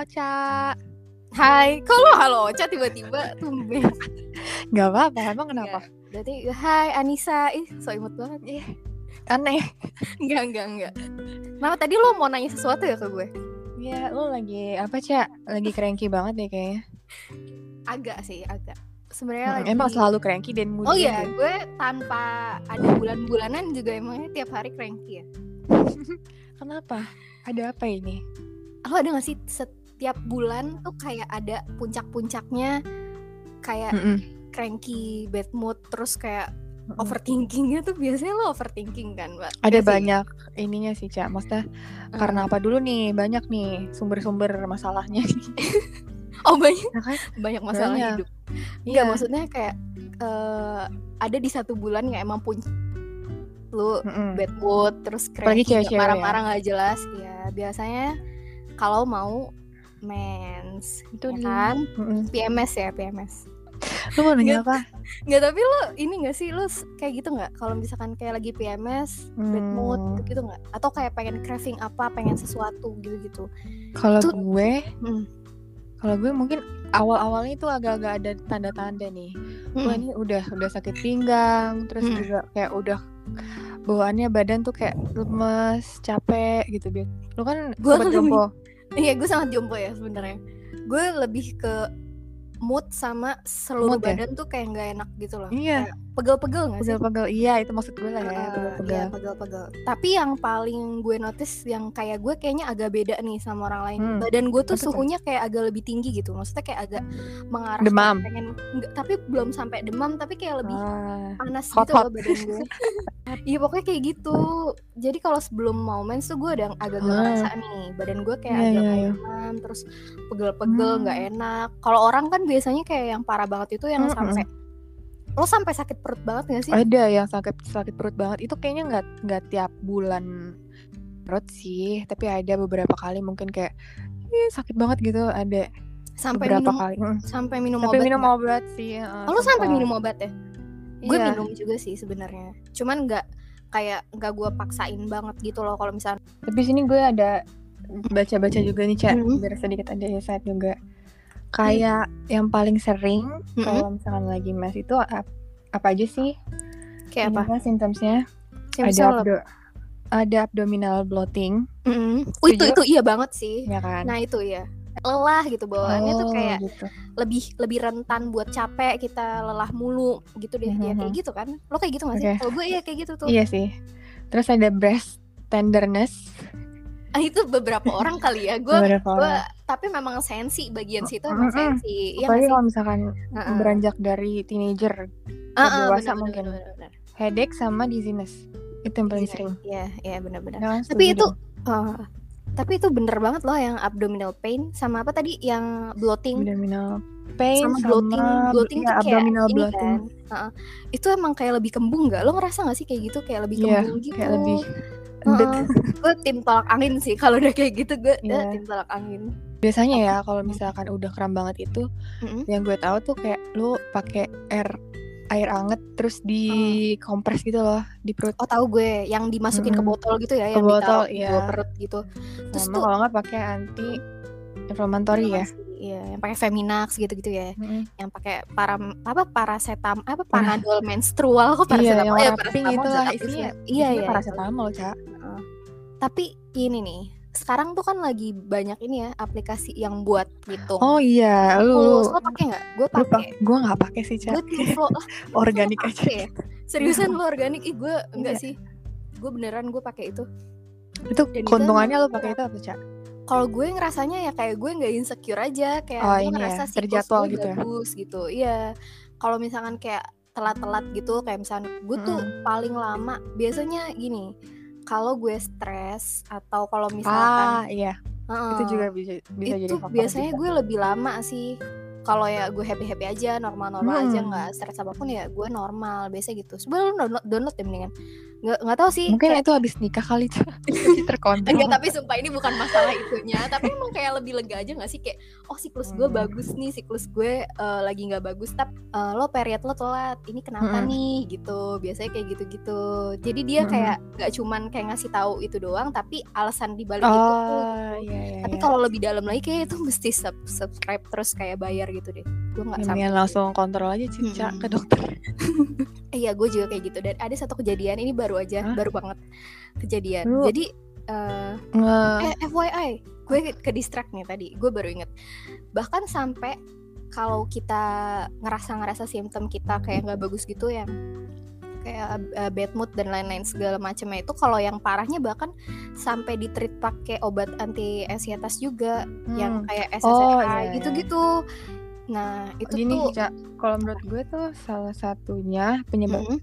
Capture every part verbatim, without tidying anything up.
Ocha. Hai, kok lo halo Ocha tiba-tiba tumben? Gak apa-apa, emang kenapa? Nggak. Berarti hai Anissa, ih so imut banget. Ih, aneh. Enggak, enggak, enggak. Kenapa tadi lo mau nanya sesuatu ya ke gue? Iya, lo lagi apa, Ca? Lagi cranky banget deh kayaknya. Agak sih, agak. Sebenarnya Hmm, lagi. emang selalu cranky dan moody. Oh iya, ya? gue tanpa ada bulan-bulanan juga emangnya tiap hari cranky ya. Kenapa? Ada apa ini? Lo ada gak sih setiap bulan tuh kayak ada puncak-puncaknya, kayak Mm-mm. cranky, bad mood, terus kayak Mm-mm. overthinkingnya tuh biasanya lo overthinking kan, Mbak? Ada Biasanya. banyak ininya sih, Ca. Maksudnya uh. karena apa dulu nih? Banyak nih sumber-sumber masalahnya. Oh banyak, ya kan? Banyak masalah banyak. hidup. Enggak, Iya. maksudnya kayak uh, ada di satu bulan yang emang puncak lu Mm-mm. bad mood, terus cranky, marah-marah nggak ya? Jelas. Ya biasanya kalau mau mens, itu ya kan? Mm-mm. P M S ya, P M S. Lu mau nanya apa? Nggak, tapi lu ini nggak sih, lu kayak gitu nggak? Kalau misalkan kayak lagi P M S, hmm. bad mood gitu nggak? Atau kayak pengen craving apa, pengen sesuatu gitu-gitu? Kalau gue, hmm. kalau gue mungkin awal-awalnya itu agak-agak ada tanda-tanda nih. Hmm. Gue ini udah udah sakit pinggang, terus hmm. juga kayak udah bawaannya badan tuh kayak lemes, capek gitu. Lu kan sobat jompo. Iya, gue sangat jompo ya sebenarnya. Gue lebih ke mood sama seluruh mood, badan ya? Tuh kayak nggak enak gitu loh. Iya. Kayak pegel-pegel nggak sih? Pegel-pegel, iya itu maksud gue lah ya. Uh, pegel-pegel. Iya, pegel-pegel. Tapi yang paling gue notice yang kayak gue kayaknya agak beda nih sama orang lain. Hmm. Badan gue tuh Betul. Suhunya kayak agak lebih tinggi gitu. Maksudnya kayak agak mengarah demam. Pengen, enggak, tapi belum sampai demam, tapi kayak lebih uh, panas hot, gitu hot. loh badan gue. Iya pokoknya kayak gitu. Jadi kalau sebelum mau mens tuh gue udah agak-agak hmm. ngerasa nih badan gue kayak yeah, agak yeah, yeah. demam, terus pegel-pegel, nggak hmm. enak. Kalau orang kan biasanya kayak yang parah banget itu yang hmm. sampai lo sampai sakit perut banget nggak sih? Ada yang sakit sakit perut banget. Itu kayaknya nggak nggak tiap bulan perut sih, tapi ada beberapa kali mungkin kayak eh, sakit banget gitu. Ada sampai beberapa minum, kali. Sampai minum sampai obat. minum gak? obat sih. Uh, oh, lo sampai minum obat ya? Gue iya. minum juga sih sebenarnya. Cuman nggak kayak nggak gue paksain banget gitu loh kalau misalnya. Tapi sini gue ada baca-baca juga nih, Cak. Mm-hmm. Biar sedikit ada insight juga. Kayak hmm. yang paling sering mm-hmm. kalau misalkan lagi mens itu apa, apa aja sih? Kayak apa? Symptomsnya? Ada abdo- ada abdominal bloating. Mm-hmm. Oh, itu itu iya banget sih. Ya kan? Nah itu ya. Lelah gitu bawaannya oh, tuh kayak gitu. lebih lebih rentan buat capek, kita lelah mulu gitu deh. Mm-hmm. Ya kayak gitu kan? Lo kayak gitu nggak sih? Okay. Kalau gue iya kayak gitu tuh. Iya sih. Terus ada breast tenderness. Ah, itu beberapa orang kali ya. Gue gue tapi memang sensi bagian situ emang mm-hmm. sensi. Apalagi ya, kalau misalkan uh-uh. beranjak dari teenager ke uh-uh, dewasa bener, mungkin. Bener, bener. Headache sama dizziness. Itu yang paling sering. Iya, iya benar-benar. Ya, tapi itu uh, tapi itu bener banget loh yang abdominal pain sama apa tadi yang bloating. Abdominal pain sama bloating, sama bloating ya, tuh kayak abdominal ini bloating. Kan. Uh-uh. Itu emang kayak lebih kembung nggak? Lo ngerasa nggak sih kayak gitu kayak lebih yeah, kembung gitu? Kayak lebih Uh, gue tim tolak angin sih kalau udah kayak gitu gue yeah. uh, tim tolak angin. Biasanya ya kalau misalkan udah kram banget itu, mm-hmm. yang gue tahu tuh kayak lu pakai air air anget terus dikompres gitu loh di perut. Oh tahu gue yang dimasukin mm-hmm. ke botol gitu ya, ke yang botol, ditaruh iya. di perut gitu. Terus sama tuh kalau nggak pakai anti inflammatory ya. Iya, yang pakai Feminax gitu-gitu ya. Mm-hmm. Yang pakai para apa parasetam apa panadol menstrual kok parasetamol. Iya, yang ya, warna pink itu lah isinya. Iya, iya. Parasetamol, Cak. Uh, tapi ini nih, sekarang tuh kan lagi banyak ini ya aplikasi yang buat ngitung. Oh iya, lu. Lo pakai enggak? Gue pakai. Gue enggak pakai sih, Cak. Gue flow lah. Organik aja. Ya? Seriusan lu organik? Ih, gue enggak iya. sih. Gue beneran gue pakai itu. Itu dan keuntungannya lu pakai itu apa, Cak? Kalau gue ngerasanya ya kayak gue nggak insecure aja, kayak oh, gue ya, ngerasa siklus gue gitu bagus ya? Gitu. Iya. Kalau misalkan kayak telat-telat gitu, kayak misalkan gue tuh mm. paling lama biasanya gini. Kalau gue stres atau kalau misalkan ah iya uh, itu juga bisa bisa itu jadi faktor biasanya juga. Gue lebih lama sih. Kalau ya gue happy happy aja, normal normal hmm. aja, nggak stres apapun ya gue normal biasa gitu. Sebenarnya lu download, download ya mendingan Nggak nggak tahu sih. Mungkin kayak... itu habis nikah kali tuh. Terkontrol. Enggak, tapi sumpah ini bukan masalah itunya. Tapi emang kayak lebih lega aja nggak sih, kayak oh siklus gue hmm. bagus nih, siklus gue uh, lagi nggak bagus, tapi uh, lo period lo telat, ini kenapa hmm. nih gitu. Biasanya kayak gitu-gitu. Jadi dia hmm. kayak nggak cuman kayak ngasih tahu itu doang, tapi alasan dibalik oh, itu tuh. Iya, iya, tapi iya. kalau lebih dalam lagi kayak itu mesti sub- subscribe terus kayak bayar gitu deh. Gue nggak sampai langsung kontrol aja Cica hmm. ke dokter. Iya, gue juga kayak gitu. Dan ada satu kejadian ini baru aja, Hah? baru banget kejadian. Lu... Jadi uh, uh... eh F Y I, gue ke distract nih tadi. Gue baru inget. Bahkan sampai kalau kita ngerasa-ngerasa simptom kita kayak nggak bagus gitu, yang kayak uh, bad mood dan lain-lain segala macamnya itu, kalau yang parahnya bahkan sampai ditreat pakai obat anti ansietas juga, hmm. yang kayak S S R I oh, iya, gitu-gitu. Nah itu gini, tuh Ca, kalau menurut gue tuh salah satunya penyebab mm-hmm.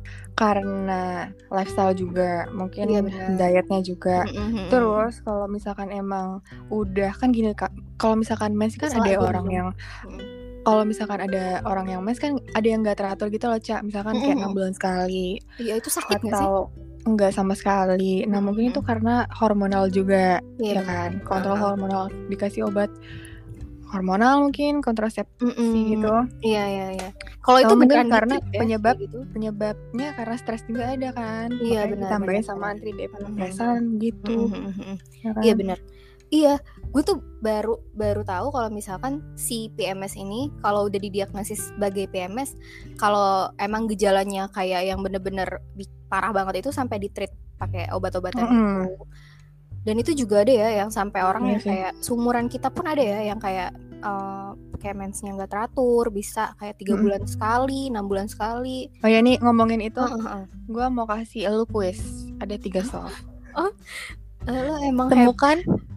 karena lifestyle juga, mungkin iya, dietnya juga. Mm-hmm. Terus kalau misalkan emang udah kan gini Kak, kalau misalkan mens kan Salah ada orang dong. yang mm-hmm. kalau misalkan ada orang yang mens kan ada yang nggak teratur gitu loh Ca, misalkan mm-hmm. kayak enam bulan sekali. Iya itu sakit nggak sih? Atau enggak sama sekali. Nah mm-hmm. mungkin itu karena hormonal juga, yeah, ya kan, kontrol uh-huh. hormonal, dikasih obat hormonal mungkin, kontrasepsi mm-mm. gitu. Iya iya iya. Kalau itu beneran karena gitu, penyebab gitu. penyebabnya karena stres juga ada kan. Iya benar. Ditambahin sama antidepresan gitu. Mm-hmm. Ya kan? Iya benar. Iya, gue tuh baru baru tahu kalau misalkan si P M S ini kalau udah didiagnosis sebagai P M S, kalau emang gejalanya kayak yang bener-bener parah banget itu sampai ditreat pakai obat-obatan mm-hmm. itu. Dan itu juga ada ya yang sampai orang yang kayak seumuran kita pun ada ya yang kayak uh, kayak mensnya nggak teratur, bisa kayak tiga hmm. bulan sekali, enam bulan sekali. Oh ya nih ngomongin itu, uh-huh. gue mau kasih elu kuis, ada tiga soal. Oh, lo emang temukan,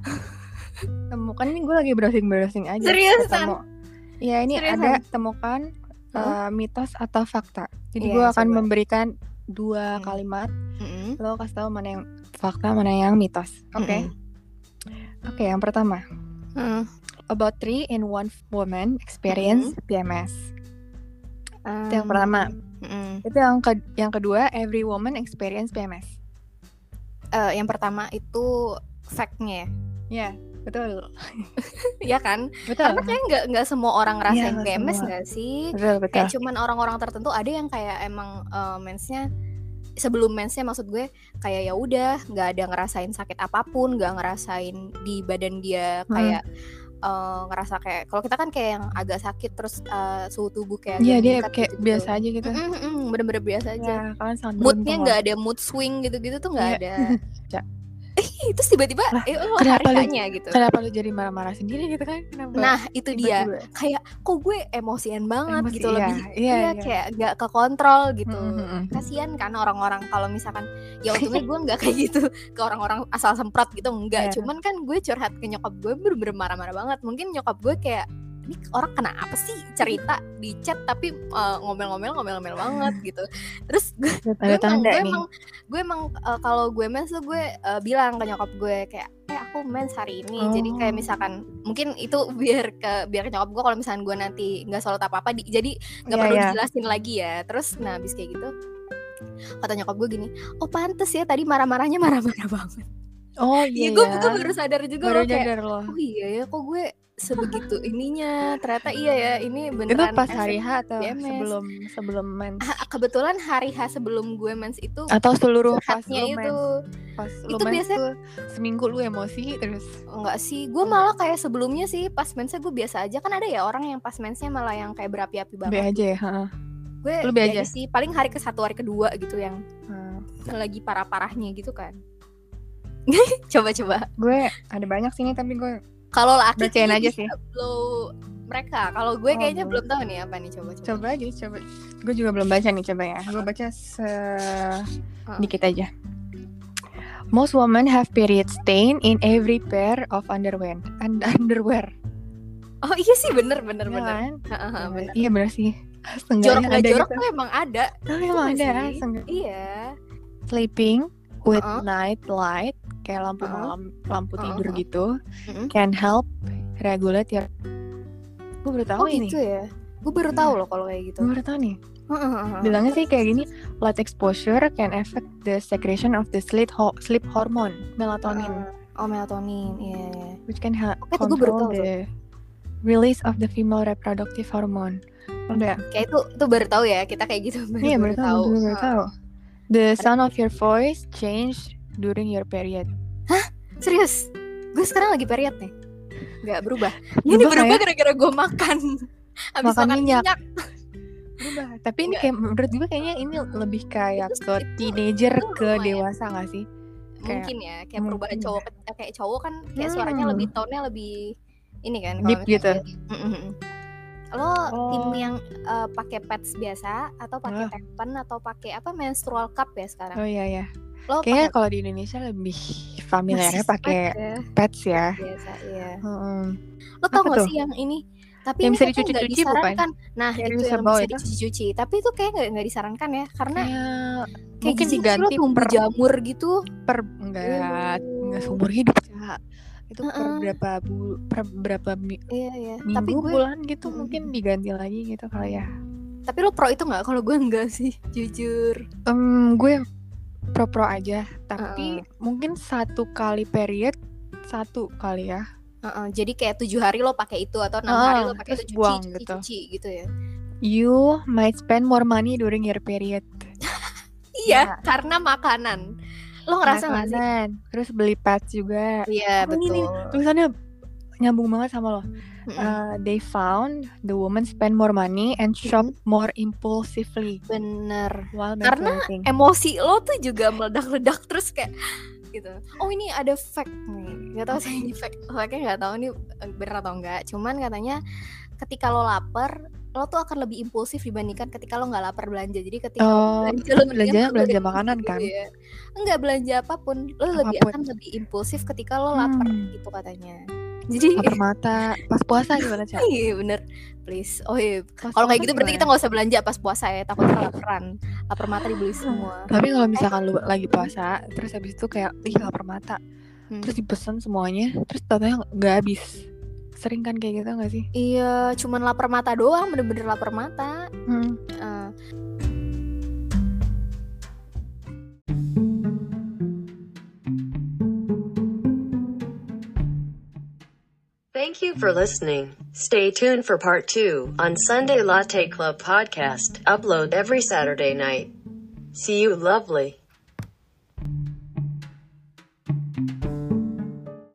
temukan ini gue lagi browsing browsing aja. Seriusan? Ya ini Seriusan? Ada temukan uh, mitos atau fakta. Jadi yeah, gue akan coba. memberikan dua hmm. kalimat. Mm-hmm. Lo kasih tahu mana yang fakta, mana yang mitos. Oke. Okay? Mm-hmm. Oke, okay, yang pertama. Mm. About three in one woman experience mm-hmm. P M S. Um, itu yang pertama. Mm-hmm. Itu yang ke- yang kedua, every woman experience P M S. Uh, yang pertama itu fact-nya ya. Yeah. Betul. Ya kan? Betul. Karena kayak nggak nggak semua orang ngerasain ya, P M S nggak sih? Betul, betul. Kayak cuman orang-orang tertentu, ada yang kayak emang uh, mensnya sebelum mensnya, maksud gue kayak ya udah nggak ada ngerasain sakit apapun, nggak ngerasain di badan dia kayak hmm. uh, ngerasa kayak kalau kita kan kayak yang agak sakit terus uh, suhu tubuh kayak iya dia kayak gitu, biasa aja gitu. Mm-mm, bener-bener biasa aja. Ya, moodnya nggak ada mood swing gitu-gitu tuh nggak ya. ada. Terus tiba-tiba lah, eh, oh, kenapa lu, gitu. Kenapa lu jadi marah-marah sendiri gitu kan? Kenapa? Nah itu dia gue. Kayak kok gue emosian banget Emosi, gitu iya, lebih iya, iya, iya. kayak nggak kekontrol gitu. Mm-hmm. Kasian kan orang-orang kalau misalkan ya untungnya gue nggak kayak gitu ke orang-orang asal semprot gitu enggak. Yeah. Cuman kan gue curhat ke nyokap gue bener-bener marah-marah banget. Mungkin nyokap gue kayak ini orang kenapa sih cerita di chat tapi uh, ngomel-ngomel ngomel-ngomel banget gitu. Terus gue, gue emang gue emang, gue emang uh, kalau gue mens tuh gue uh, bilang ke nyokap gue kayak eh aku mens hari ini. Oh. Jadi kayak misalkan mungkin itu biar ke biar ke nyokap gue kalau misalkan gue nanti nggak sholat apa-apa di, jadi nggak yeah, perlu yeah. dijelasin lagi ya. Terus nah abis kayak gitu kata nyokap gue gini, oh pantes ya tadi marah-marahnya marah-marah banget. Oh iya, ya, gue, gue baru sadar juga baru loh kayak loh. Oh iya ya kok gue sebegitu ininya, ternyata iya ya ini beneran. Itu pas hari H atau P M S? sebelum sebelum mens? Ha, kebetulan hari H sebelum gue mens itu atau seluruh pas lu itu mens? Pas lu itu mens biasanya tuh seminggu lu emosi terus? Enggak sih, gue malah kayak sebelumnya sih pas mensnya gue biasa aja. Kan ada ya orang yang pas mensnya malah yang kayak berapi-api banget. Be aja ya. Gue lu be aja sih paling hari ke satu hari kedua gitu yang hmm. lagi parah-parahnya gitu kan. Coba-coba. Gue ada banyak sini tapi gue kalau laki bacain aja sih. Blow mereka. Kalau gue oh, kayaknya belum tahu nih apa nih, coba-coba. Coba aja, coba. Gue juga belum baca nih, coba ya. Gue baca sedikit uh. aja. Most women have period stain in every pair of underwear. And underwear. Oh iya sih, bener bener ya, bener. Kan? Uh-huh, bener. Iya bener sih. Jorok nggak jorok gitu. Tuh emang ada. Oh emang ada. Iya. Sleeping with uh-huh. night light, kayak lampu uh-huh. malam, lampu tidur uh-huh. gitu, uh-huh. can help regulate your. Gue baru tahu oh, ini. Gitu ya. Gue baru tahu loh kalau kayak gitu. Gue baru tahu nih. Bilangnya sih kayak gini, light exposure can affect the secretion of the sleep ho- sleep hormone melatonin. Oh, melatonin, iya. Yeah. Which can help okay, control the release of the female reproductive hormone. Udah. Kayak itu itu baru tahu ya, kita kayak gitu baru, iya, baru, baru tahu. Baru, baru tahu. The sound of your voice change during your period. Hah? Serius? Gue sekarang lagi period nih. Gak berubah. Ini berubah ya? Gara-gara gue makan. Abis makan, makan minyak. minyak. Berubah. Tapi ini kayak menurut gue kayaknya ini lebih kayak itu, ke teenager itu, ke dewasa nggak sih? Mungkin kayak, ya, kayak mungkin. Perubahan cowok kayak cowok kan kayak hmm. suaranya lebih tone-nya lebih ini kan deep gitu. Lo oh. tim yang uh, pakai pads biasa atau pakai oh. tampon atau pakai apa menstrual cup ya sekarang? Oh iya ya. Lo kayaknya kalau di Indonesia lebih familiarnya pakai ya. pads ya. Biasa iya. Hmm. Lo tau gak sih yang ini? Tapi yang ini bisa dicuci-cuci bukan? Nah yang itu yang bisa dicuci-cuci. Tapi itu kayak nggak nggak disarankan ya, karena kayak, kayak mungkin diganti lo tumbuh per jamur gitu. Per enggak nggak uh. seumur hidup ya. Itu uh-uh. per berapa bu per berapa mi- iya, iya. minggu tapi gue, bulan gitu uh-uh. mungkin diganti lagi gitu kali ya. Tapi lo pro itu nggak? Kalau gue enggak sih, jujur. Um, gue pro-pro aja. Tapi uh-uh. mungkin satu kali period satu kali ya. Uh-uh. Jadi kayak tujuh hari lo pakai itu atau enam uh, hari lo pakai itu cuci, buang cuci, gitu. cuci gitu ya. You might spend more money during your period. Iya, yeah. karena makanan. Lo ngerasa nggak sih? Terus beli pads juga. Iya, oh, betul. Ini, tulisannya nyambung banget sama lo. Mm-hmm. Uh, they found the woman spend more money and shop mm-hmm. more impulsively. Bener. Karena emosi lo tuh juga meledak-ledak terus kayak gitu. Oh ini ada fact nih. Gak tau sih ini fact. Fact-nya gak tau ini bener atau enggak. Cuman katanya ketika lo lapar, lo tuh akan lebih impulsif dibandingkan ketika lo nggak lapar belanja. Jadi ketika oh, lo belanja, lo belanja belanja makanan kan? Ya. Enggak belanja apapun, lo apapun. lebih akan lebih impulsif ketika lo lapar hmm. gitu katanya. Jadi lapar mata pas puasa gimana Cak? Iya bener, please. Oh iya, kalau kayak gitu berarti kita nggak usah belanja pas puasa ya, takutnya laparan, lapar mata dibeli semua. Tapi kalau misalkan lo lagi puasa, terus habis itu kayak ih lapar mata, hmm. terus dipesan semuanya, terus tatanya nggak habis. Sering kan kayak gitu gak sih? Iya, cuman lapar mata doang, bener-bener lapar mata. hmm. uh. Thank you for listening. Stay tuned for part two on Sunday Latte Club podcast, upload every Saturday night. See you lovely.